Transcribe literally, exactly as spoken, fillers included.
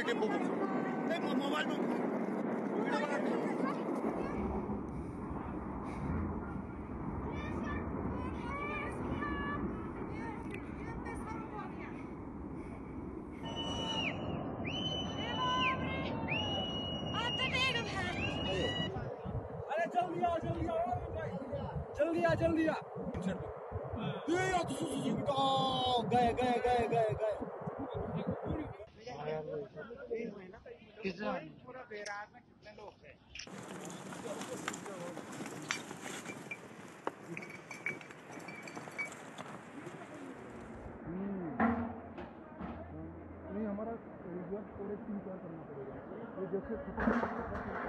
Tempo को mobile में अरे जल्दी आ जल्दी आ जल्दी आ जल्दी आ गए गए गए गए गए पूरा बेरार में कितने लोग थे? नहीं हमारा रिजर्व स्टोरेज तीन चार करना पड़ेगा ये जैसे